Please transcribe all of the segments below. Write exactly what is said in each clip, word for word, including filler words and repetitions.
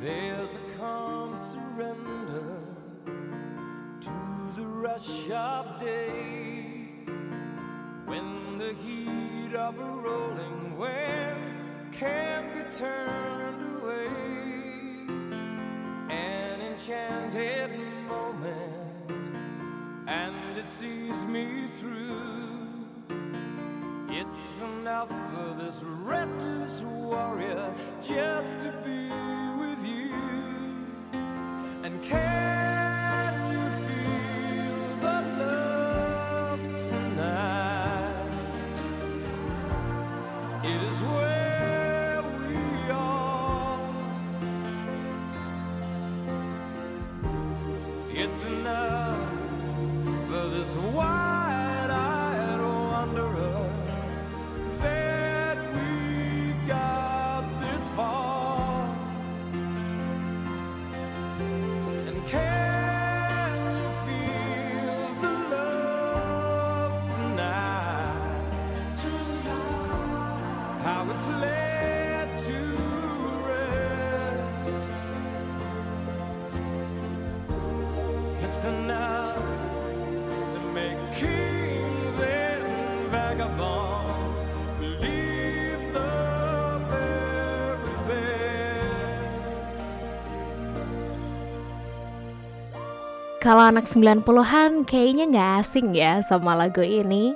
There's a calm surrender to the rush of day, when the heat of a rolling wave can be turned away. An enchanted moment, and it sees me through. It's enough for this restless warrior just to be with you. And can you feel the love tonight? It is where we are. It's enough for this wide-eyed wanderer. Led to rest. It's enough to make kings and vagabonds believe the very best. Kalau anak sembilan puluhan kayaknya nggak asing ya sama lagu ini.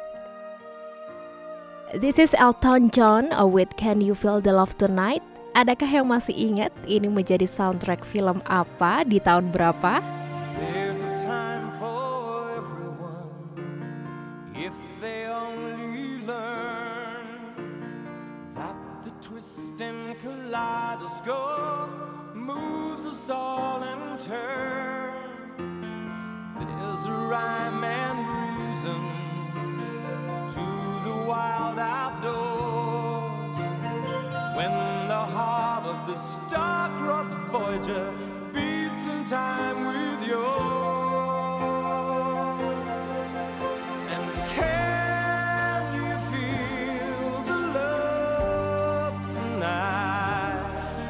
This is Elton John with Can You Feel the Love Tonight? Adakah yang masih ingat ini menjadi soundtrack film apa di tahun berapa? There's a time for everyone if they only learn that the twist and kaleidoscope moves us all in turn. There's a rhyme and reason to the wild outdoors, when the heart of the star-crossed Voyager beats in time with yours. And can you feel the love tonight?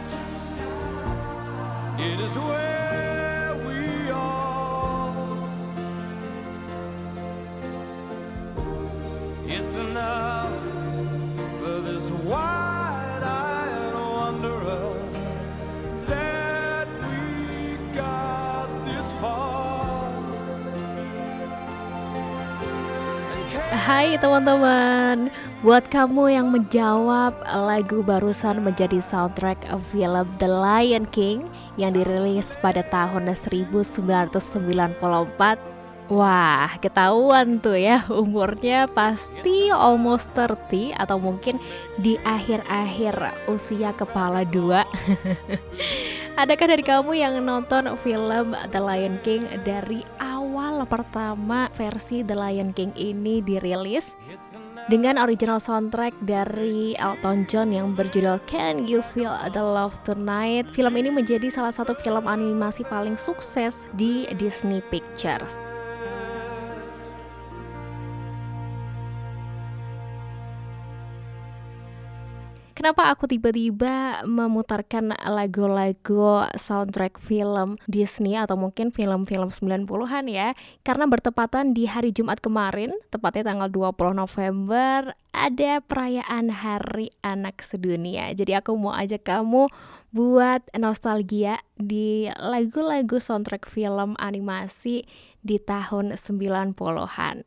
It is where we are. It's enough for this wide-eyed wanderer that we got this far. Hai teman-teman, buat kamu yang menjawab lagu barusan menjadi soundtrack film The Lion King yang dirilis pada tahun seribu sembilan ratus sembilan puluh empat, wah, ketahuan tuh ya umurnya pasti almost thirty atau mungkin di akhir-akhir usia kepala dua. Adakah dari kamu yang nonton film The Lion King dari awal pertama versi The Lion King ini dirilis? Dengan original soundtrack dari Elton John yang berjudul Can You Feel the Love Tonight, film ini menjadi salah satu film animasi paling sukses di Disney Pictures. Kenapa aku tiba-tiba memutarkan lagu-lagu soundtrack film Disney atau mungkin film-film sembilan puluhan ya? Karena bertepatan di hari Jumat kemarin, tepatnya tanggal dua puluh November, ada perayaan Hari Anak Sedunia. Jadi aku mau ajak kamu buat nostalgia di lagu-lagu soundtrack film animasi di tahun sembilan puluhan.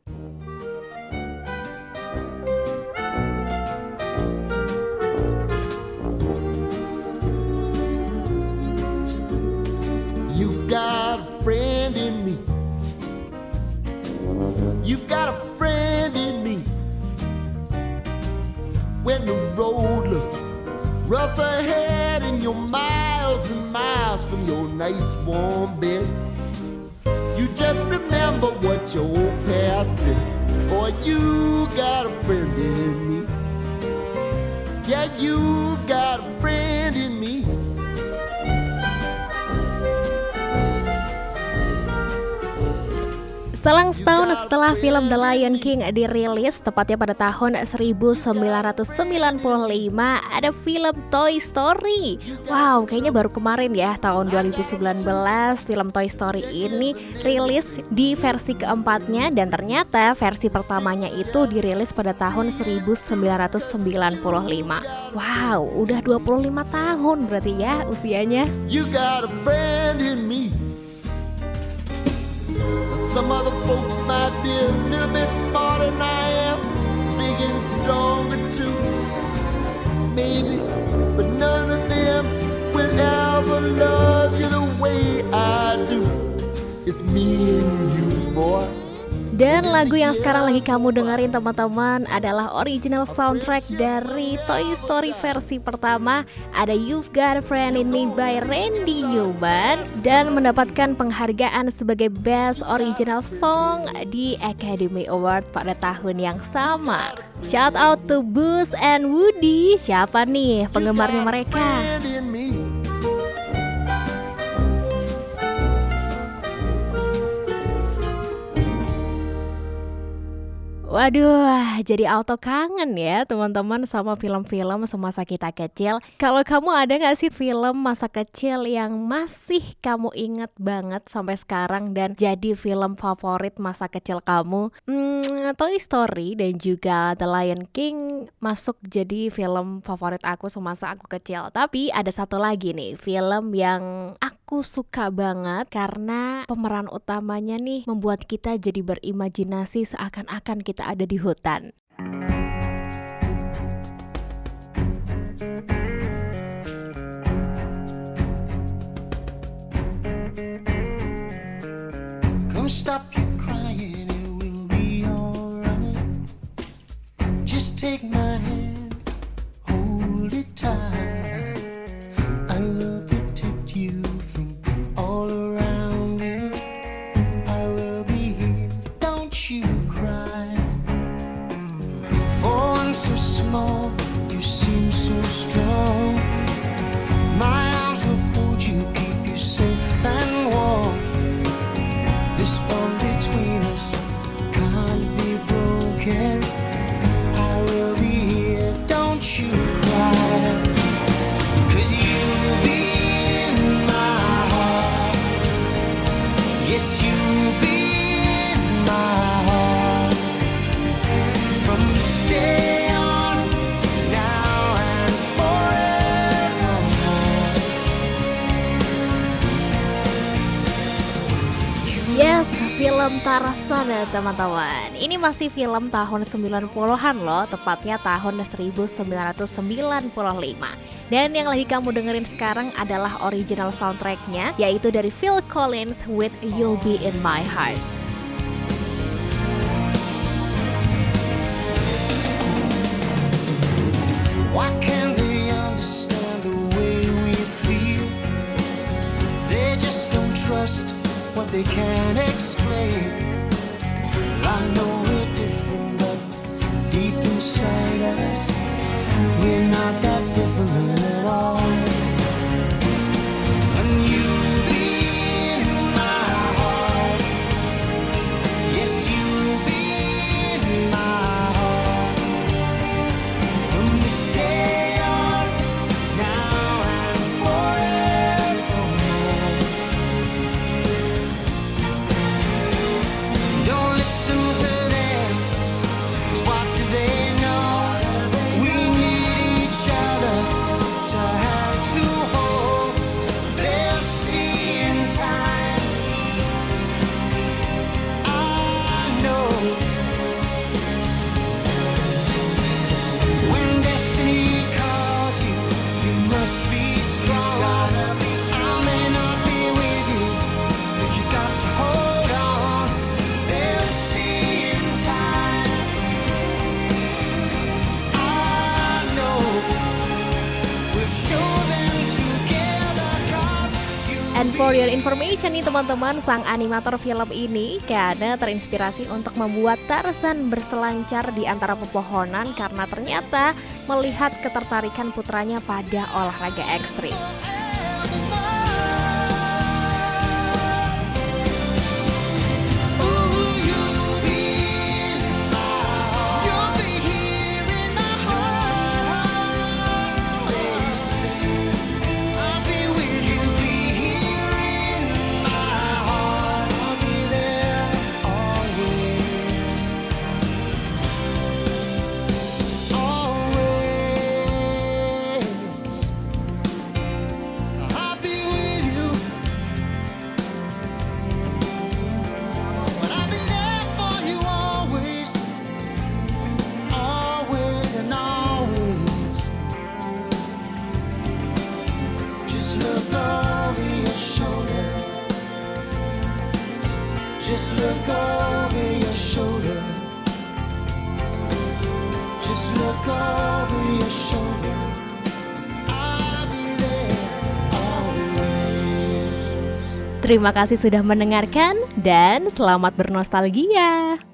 You've got a friend in me. You've got a friend in me. When the road looks rough ahead and you're miles and miles from your nice warm bed, you just remember what your old past said. Boy, you got a friend in me. Yeah, you got a friend in me. Selang setahun setelah film The Lion King dirilis, tepatnya pada tahun seribu sembilan ratus sembilan puluh lima, ada film Toy Story. Wow, kayaknya baru kemarin ya, tahun dua ribu sembilan belas, film Toy Story ini rilis di versi keempatnya. Dan ternyata versi pertamanya itu dirilis pada tahun seribu sembilan ratus sembilan puluh lima. Wow, udah dua puluh lima tahun berarti ya usianya. You got a friend in me. Some other folks might be a little bit smarter than I am, big and stronger too, maybe, but none of them will ever love you the way I do. It's me and you, boy. Dan lagu yang sekarang lagi kamu dengerin teman-teman adalah original soundtrack dari Toy Story versi pertama. Ada You've Got a Friend in Me by Randy Newman dan mendapatkan penghargaan sebagai Best Original Song di Academy Award pada tahun yang sama. Shout out to Buzz and Woody. Siapa nih penggemarnya mereka? Waduh, jadi auto kangen ya teman-teman sama film-film semasa kita kecil. Kalau kamu ada gak sih film masa kecil yang masih kamu inget banget sampai sekarang dan jadi film favorit masa kecil kamu? Hmm, Toy Story dan juga The Lion King masuk jadi film favorit aku semasa aku kecil. Tapi ada satu lagi nih, film yang aku suka banget karena pemeran utamanya nih membuat kita jadi berimajinasi seakan-akan kita ada di hutan. Come stop your crying, it will be alright. Just take my hand, hold it tight. I will protect you from all around you. I will be here, don't you cry. So small, you seem so strong. My arms will hold you, keep you safe and warm. This bond between us can't be broken. I will be here, don't you cry. 'Cause you'll be in my heart. Yes, you'll be in my heart. From this day Yes, film Tarzan ya teman-teman. Ini masih film tahun sembilan puluhan loh, tepatnya tahun seribu sembilan ratus sembilan puluh lima. Dan yang lagi kamu dengerin sekarang adalah original soundtracknya, yaitu dari Phil Collins with You'll Be In My Heart. Why can't they understand the way we feel? They just don't trust what they can't explain. I know we're different, but deep inside us, we're not that different at all. And you'll be in my heart. Yes, you'll be in my heart. From this day on, now and forevermore. Don't listen to them, 'cause what do they know? We need each other to have to hold. They'll see in time. I know when destiny calls you, you must be strong. I may not be with you, but you got to hold on. They'll see in time. I know we'll show them together, 'cause you. And for your information nih teman-teman, sang animator film ini karena terinspirasi untuk membuat Tarzan berselancar di antara pepohonan karena ternyata melihat ketertarikan putranya pada olahraga ekstrim. Ooh, Just look over your shoulder. Just look over your shoulder. I'll be there always. Terima kasih sudah mendengarkan dan selamat bernostalgia.